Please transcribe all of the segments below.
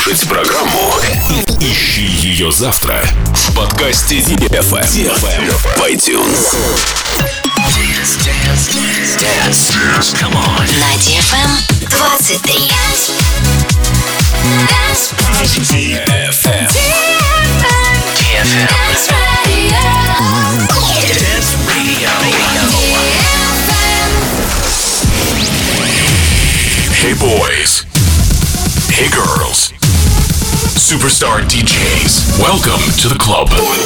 слушать программу, ищи ее завтра в подкасте DFM в iTunes. Dance. Come on. На DFM 23. DFM. Dance Radio. Dance Radio. Hey boys. Hey girls. Superstar DJs. Welcome to the club.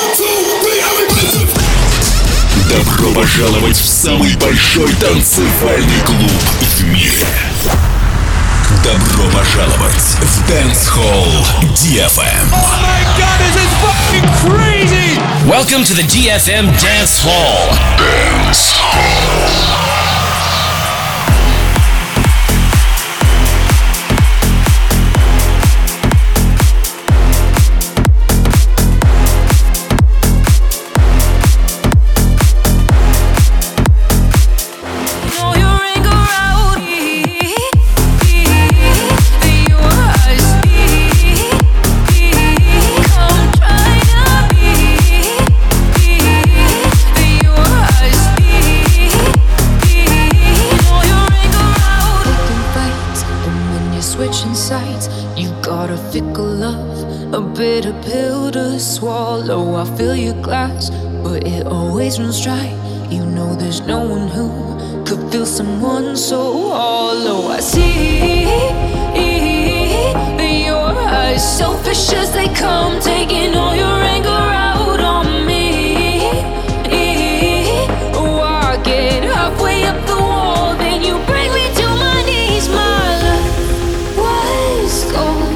Добро пожаловать в самый большой танцевальный клуб в мире. Добро пожаловать в Dance Hall DFM. Oh my God, this is fucking crazy! Welcome to the DFM Dance Hall. Dance Hall. Bitter pill to swallow. I fill your glass, but it always runs dry. You know there's no one who could feel someone so hollow. I see your eyes, selfish as they come, taking all your anger out on me. Oh, I get halfway up the wall, then you bring me to my knees. My love was gold.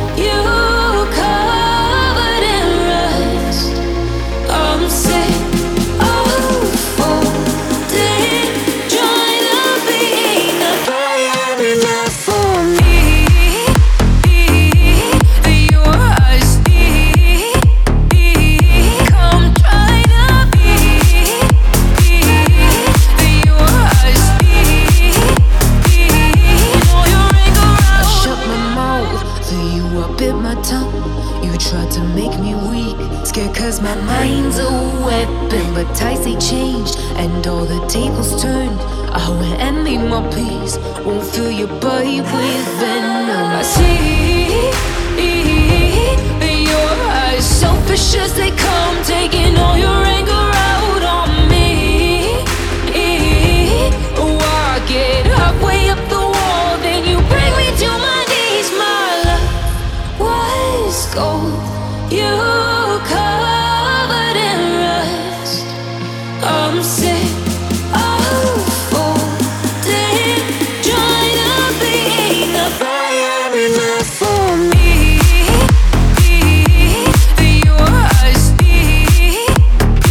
Cause my mind's a weapon, but tides they changed and all the tables turned. I will envy my peace, won't fill your body with venom. I see your eyes, selfish as they come, taking all your anger out on me. Oh, I get halfway up the wall, then you bring me to my knees. My love was gold. You covered in rust. I'm sick of folding, trying to be the fire enough for me. Your eyes,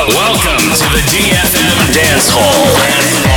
Welcome to the DFM Dance Hall.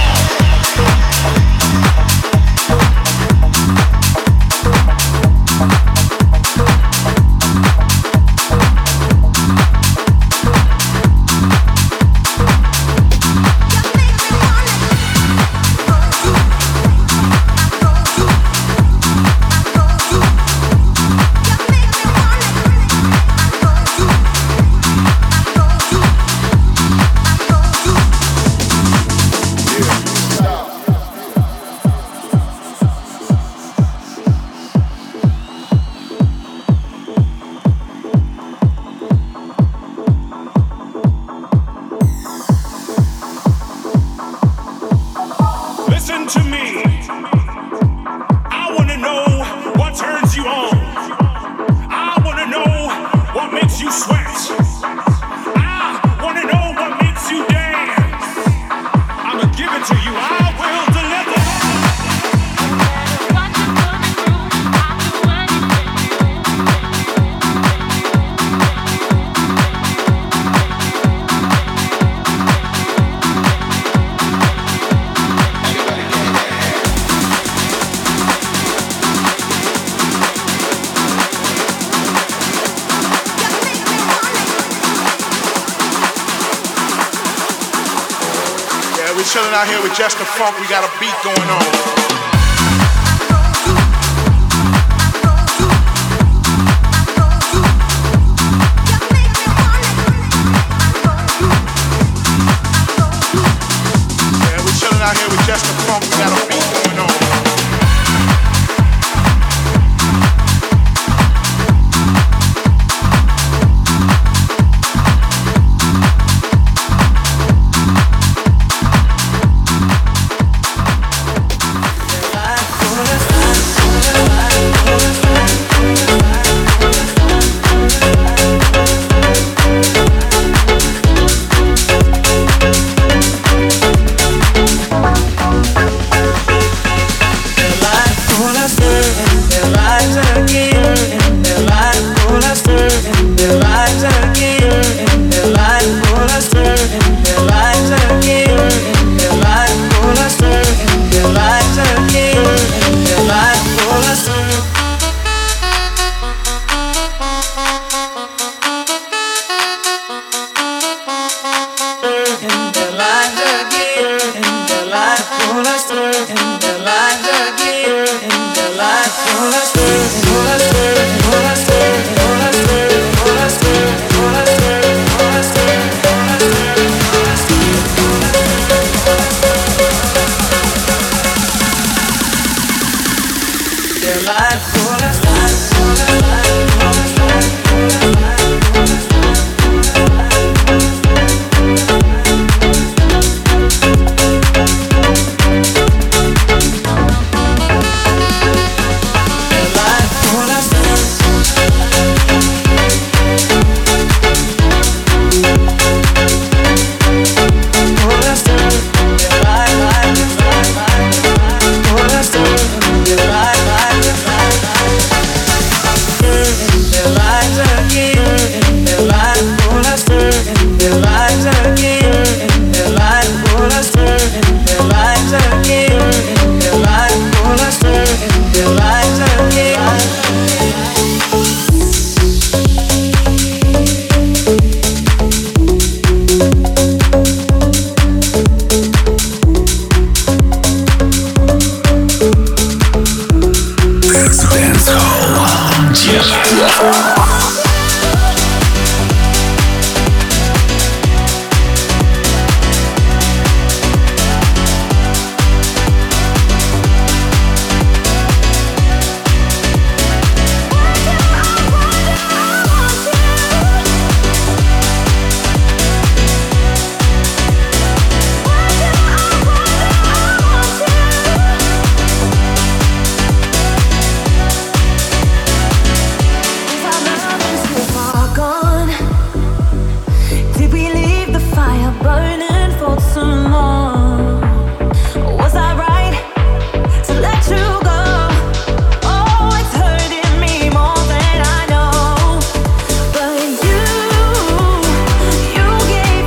Chilling out here with Just the Funk, we got a beat going on. Out here with Just the Funk, we got a beat going on. You gave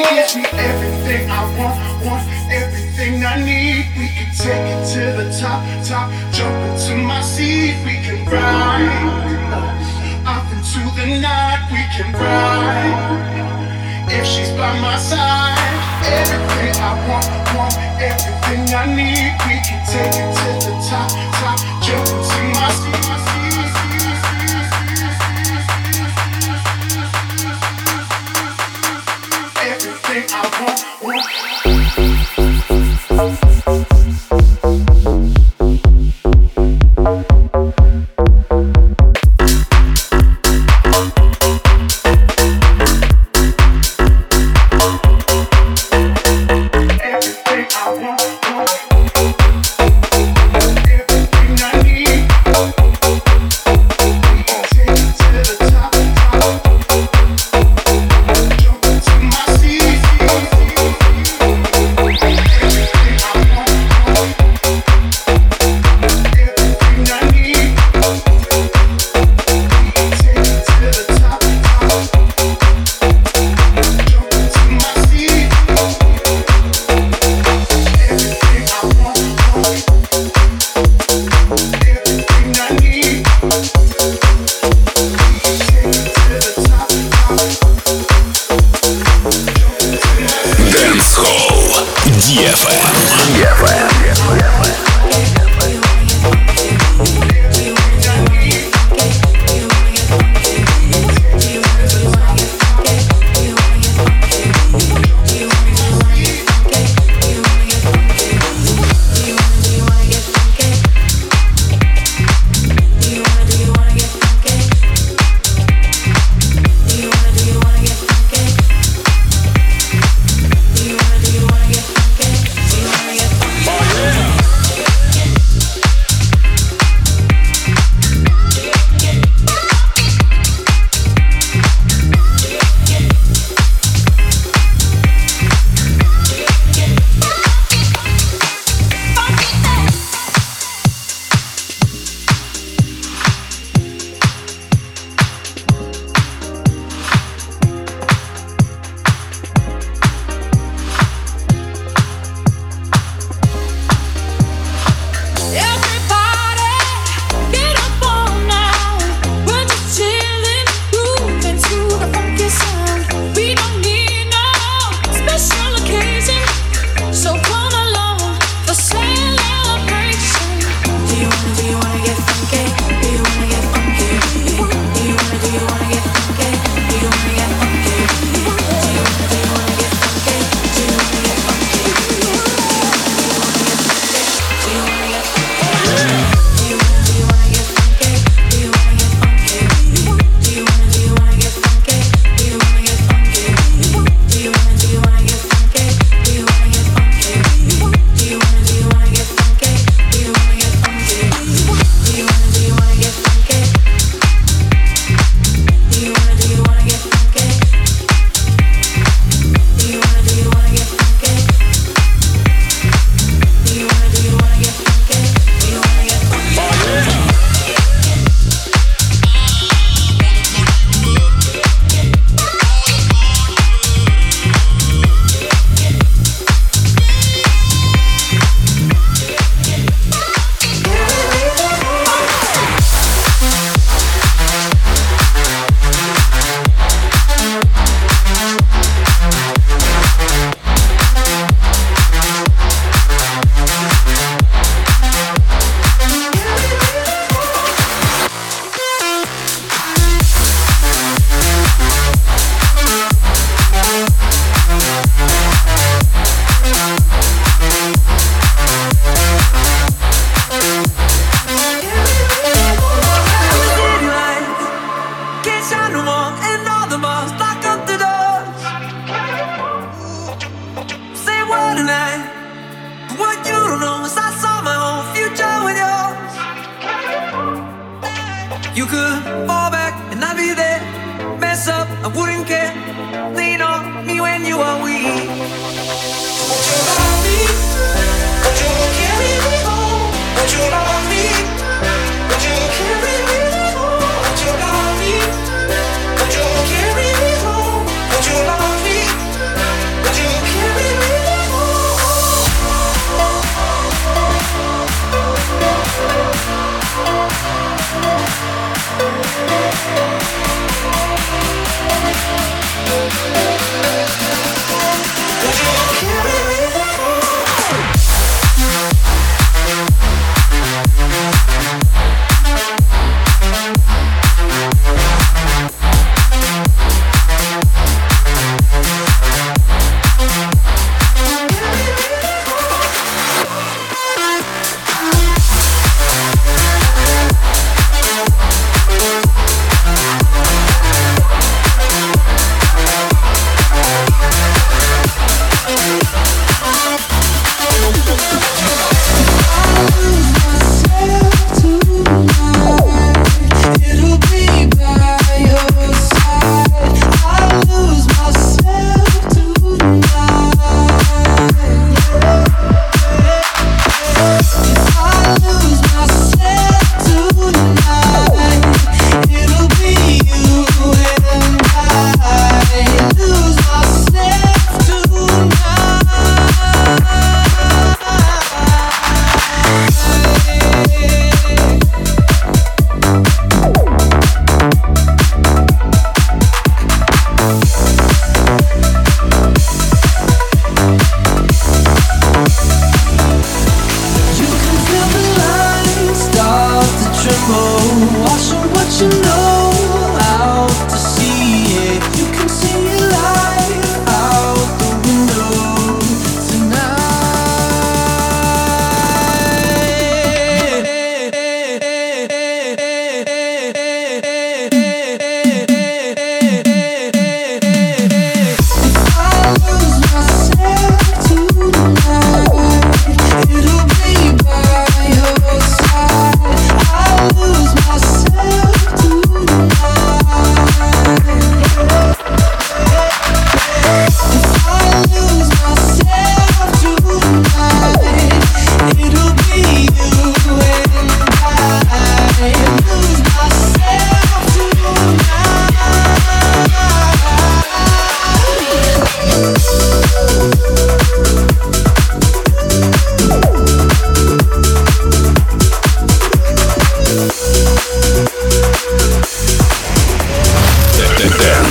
gives me everything I want everything I need. We can take it to the top, jump into my seat. We can ride off into the night. We can ride if she's by my side. Everything I want everything I need. We can take it to the top, jump into my seat. Everything I want.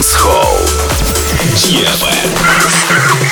Dance Hall. DFM.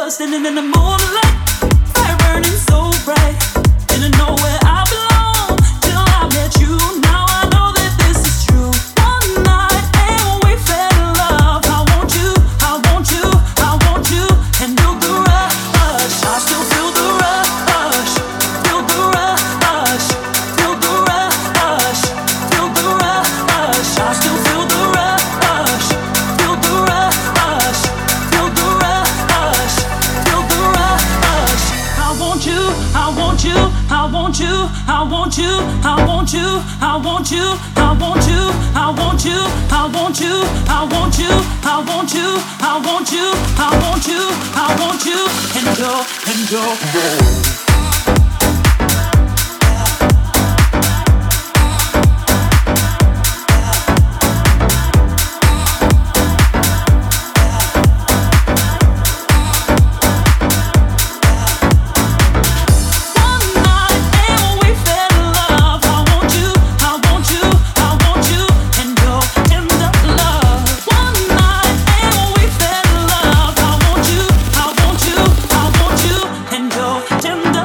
standing in the moonlight, fire burning so bright. Didn't know where I belong till I met you. Now I know that this is true. One night and we fell in love. I want you, I want you, I want you, and feel the rush. I still feel the rush, feel the rush, feel the rush, feel the rush. I still feel the rush, feel the rush, feel the rush, feel the rush. I want you, I want you, I want you, I want you, I want you, I want you, I want you, I want you, I want you, I want you, I want you, I want you, I want you, I want you, and go. Tender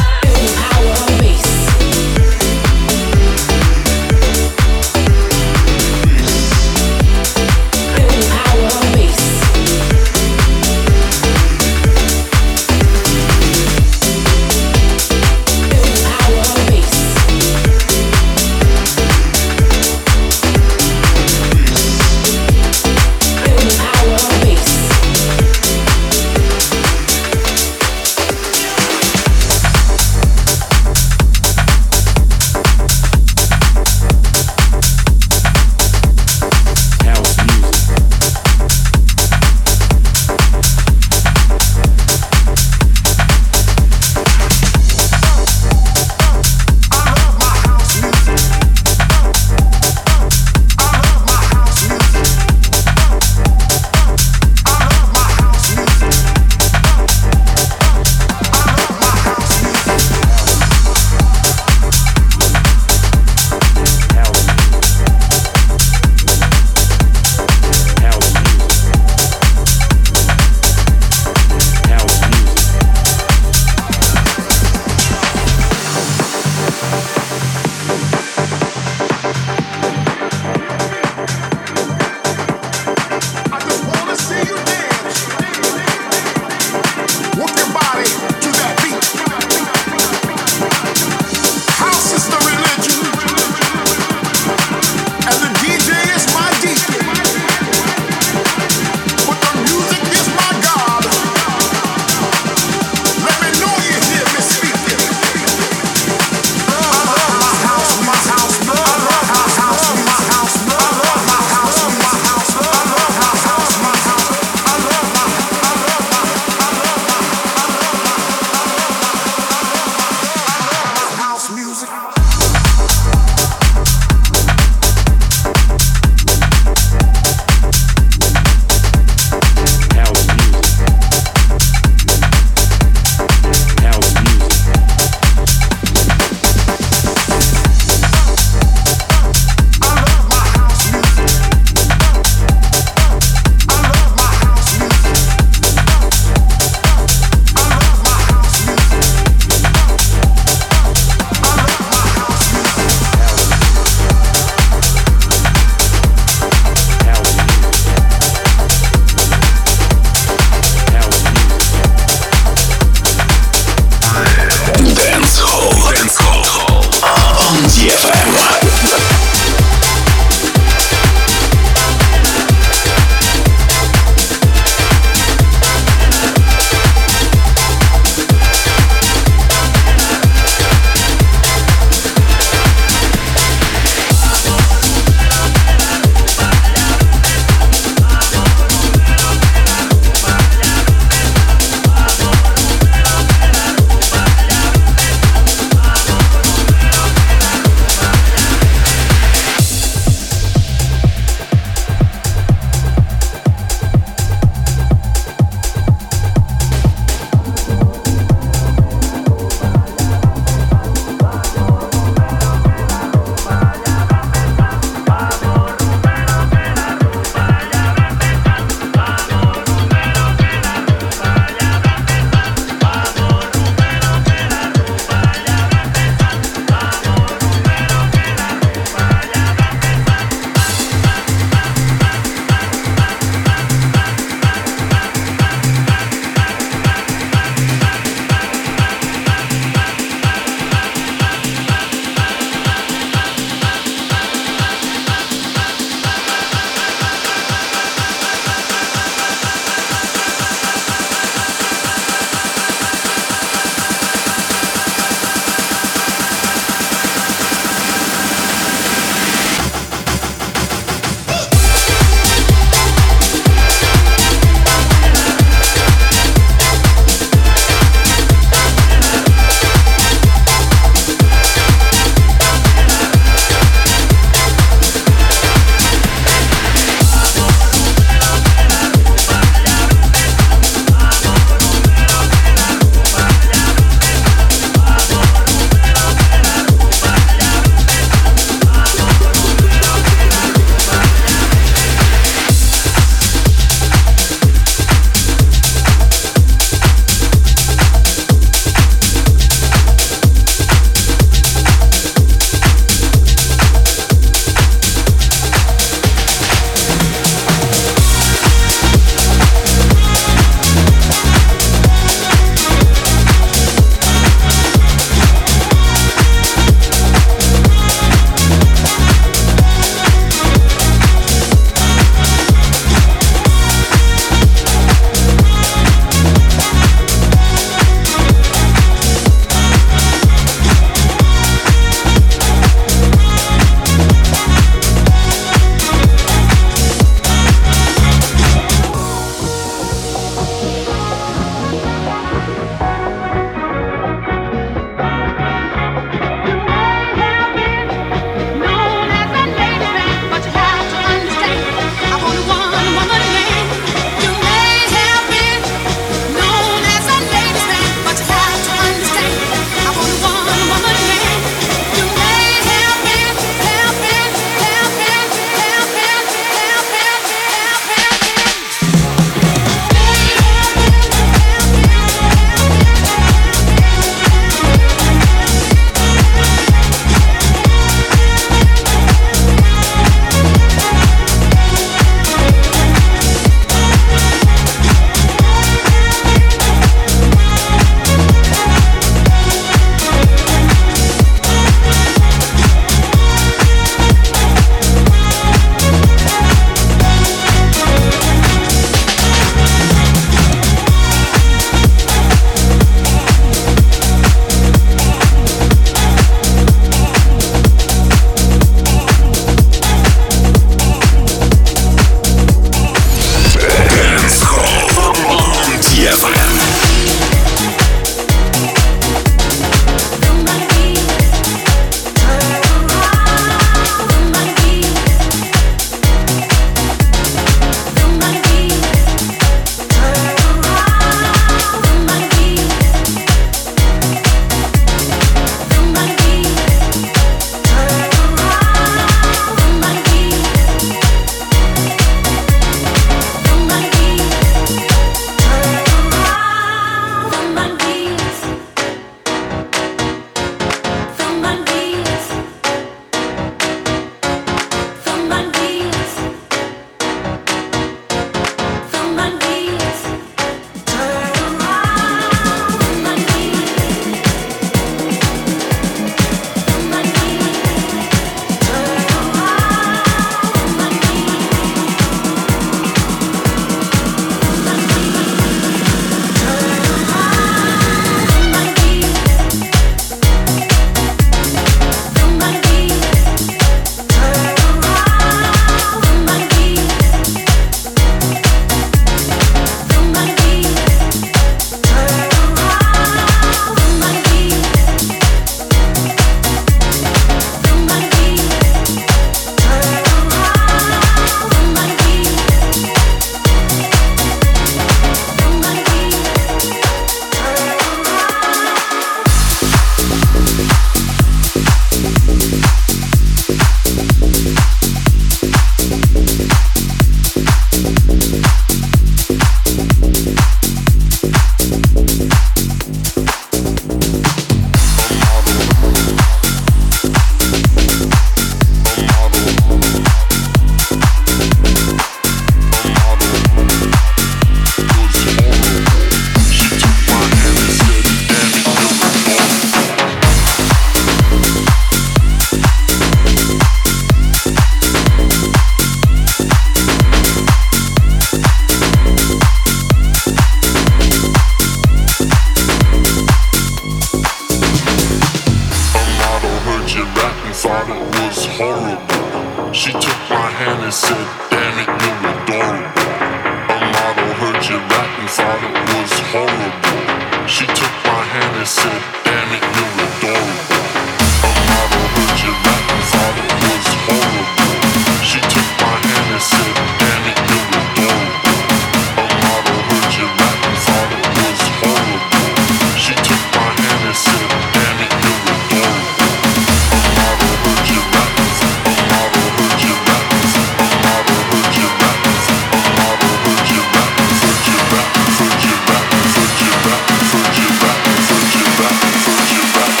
She took my hand and said, damn it, you're adorable. A model heard you rap and thought it was horrible. She took my hand and said, damn it, you're adorable. A model heard you rap and thought it was horrible. She took my hand and said, damn it, you're adorable. A model heard you rap and thought it was horrible. She took my hand and said, damn it, you're adorable. A model heard you rap and a model heard you rap and a model heard you rap and a model heard you rap and heard you rap and heard you rap and heard you rap and heard you rap and heard you rap and heard you rap.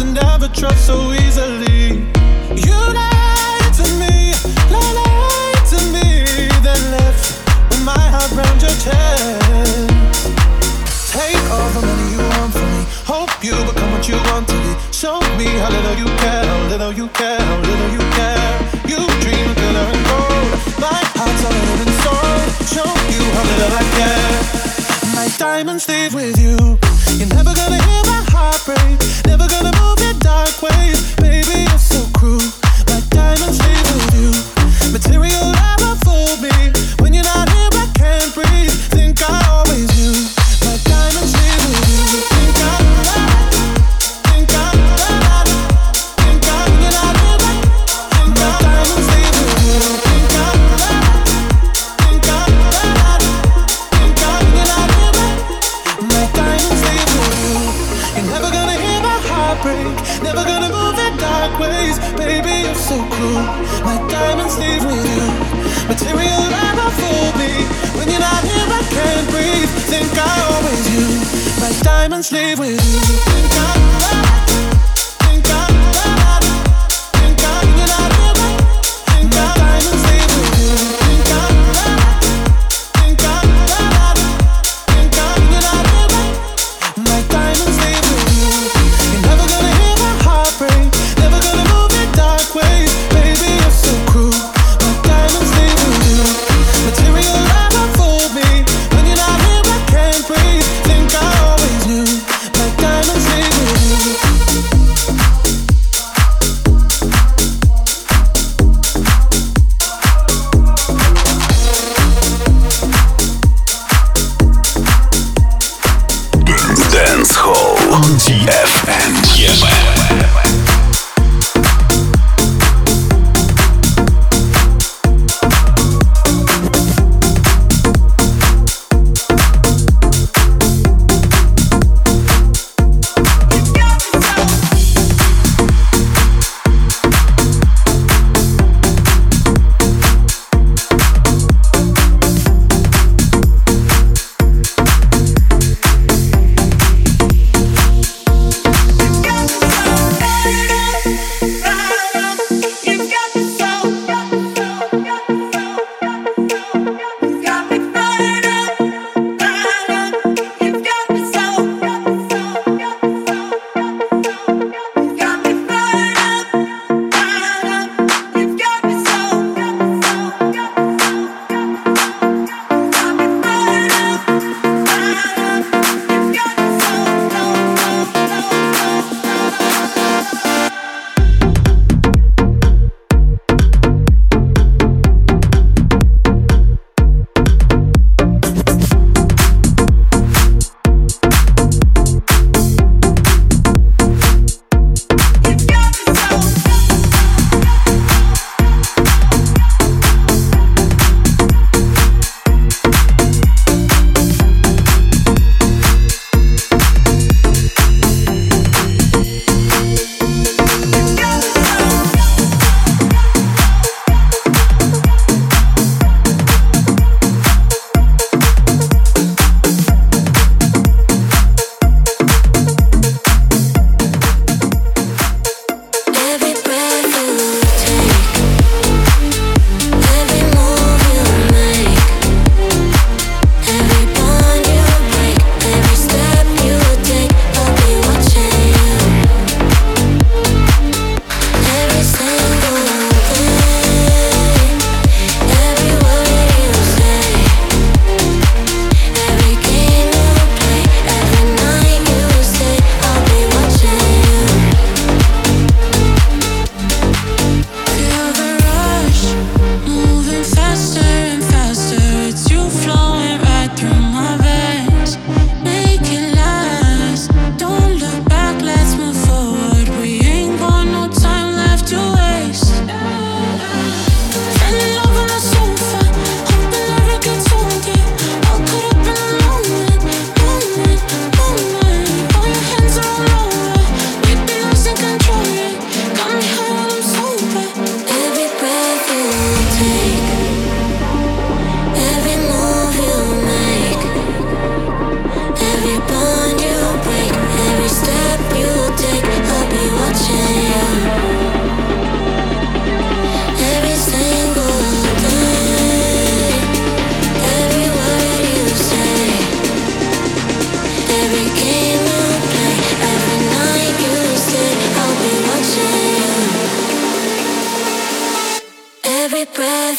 to never trust so easily. You lied to me, lied to me, then left with my heart round your chest. Take all the money you want from me. Hope you become what you want to be. Show me how little you care, how little you care, how little you care. You dream of glitter and gold. My heart's all in and sold. Show you how little I care. My diamonds leave with you. You're never gonna hear my heart break. Never gonna move in dark ways. Baby, you're so cruel. My diamonds leave with you. Material never fooled me. When you're not here, I can't breathe. Think I always knew. My diamonds leave with you. Think I think I think I when you're not here, my diamonds leave with you. Think I think I think I when you're not here, my diamonds leave with you. You're never gonna hear my heart break. Never gonna move in dark ways. Baby, you're so cruel. My diamonds leave with you. Material never fooled me. When you're not here, I can't breathe. Think I always knew. My diamonds leave with you. Think I think I think I when you're not here, think I diamonds leave with you. Think I think I think I when you're not here, my diamonds leave with you. You're never gonna hear my heart break. Never gonna move in dark ways. Baby, you're so cruel. My diamonds leave with you. Material never fooled me. When you're not here, I can't breathe. Think I always knew. My diamonds leave with you.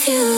you.